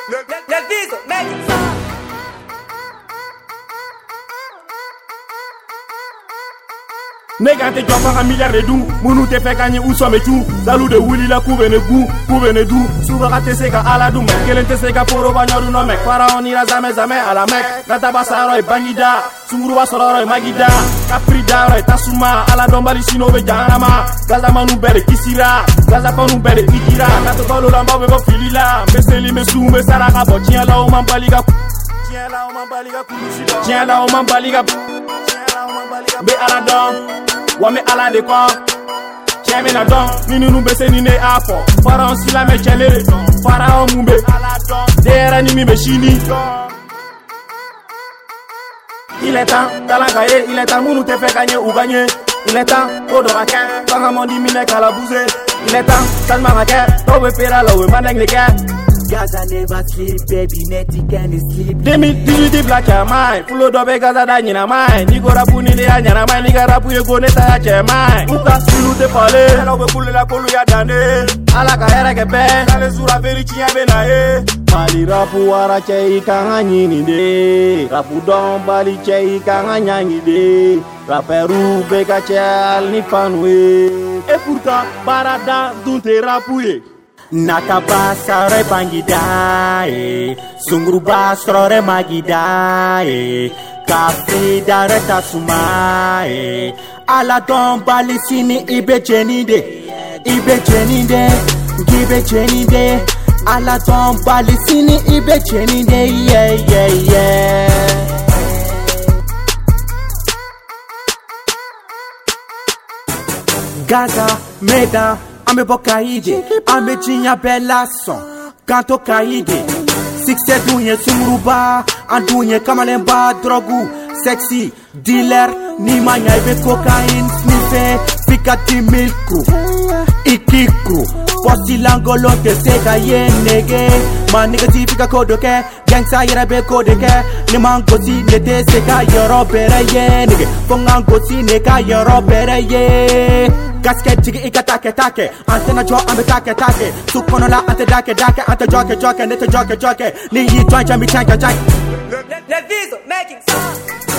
Le Viso making sound. Nega te jumpa un milliard de dou, munu te fait gagner où sommes tout. Salou de Willy la couve ne goût, couve ne dou. Souvent te sega ala dou mec, kelen te sega poro banyoru no mec. Para on ira jamais à la mec. Nata basaro e bangida, sunguru basoro e magida. Capri daro e tasuma, ala dombali sino be janama. Gaza manu bere kisira, gaza panu bere ikira. Nato kolo lamba be filila, meseli mesu me saraka bo tiens la o mambaliga. Tiens la o mambaliga kulushida. Tiens la o mambaliga. Be ala don, wa me ala de kwa. Cheme na don, nini nu bese ni ne afo. Para on sila me chele, para on mumbe ala don. Dera ni mi be shini. Il est temps, talagaye, il est temps, mounou te fait gagner ou gagner. Il est temps, Odoraken, Pangamondi mine kalabouze. Il est temps, Salma Raken, Tobe Pera Lowe, Maneng les gars. Gaza never sleep, baby, Netty can't sleep. 2018 black ya mai, full dobe Gaza da nyina mai. Nigo rapu ni le nyana mai, niga rapu ye go neta ya che mai. Uka silu te pale, hello be kulu la kolu ya dane. Ala ka era ke be, kale sura veri chinya be na e. Bali rapu wara che ikanga nyini de. Rapu don bali che ikanga nyangi de. Raperu be ka che al ni fanwe. Et pourtant, barada dunte rapu ye. Nakaba sare bangidae, sungruba sore magidae, kafi dare tasumae, ala don balisini ibe chenide, gibe chenide, ala don balisini ibe chenide, yeah. Gaza, Meda, Ame bokaide, ame jinya bella son, kanto kaide. Sixte dunye sumuruba, andunye kamalemba drogu, sexy dealer, ni manya ibe cocaine sniffe, pika di milku, ikiku, posti langolo te sega ye nege, ma nigga ti pika kodoke, gangsta yera be kodeke, ni mangosi ne te sega yoro bere ye nige, fongangosi ne ka yoro bere ye. Gasket jigi ika take antena jo ambe take sukono la ante dake ante joke nete joke ni yi join chambi chanka Le Viso making sound.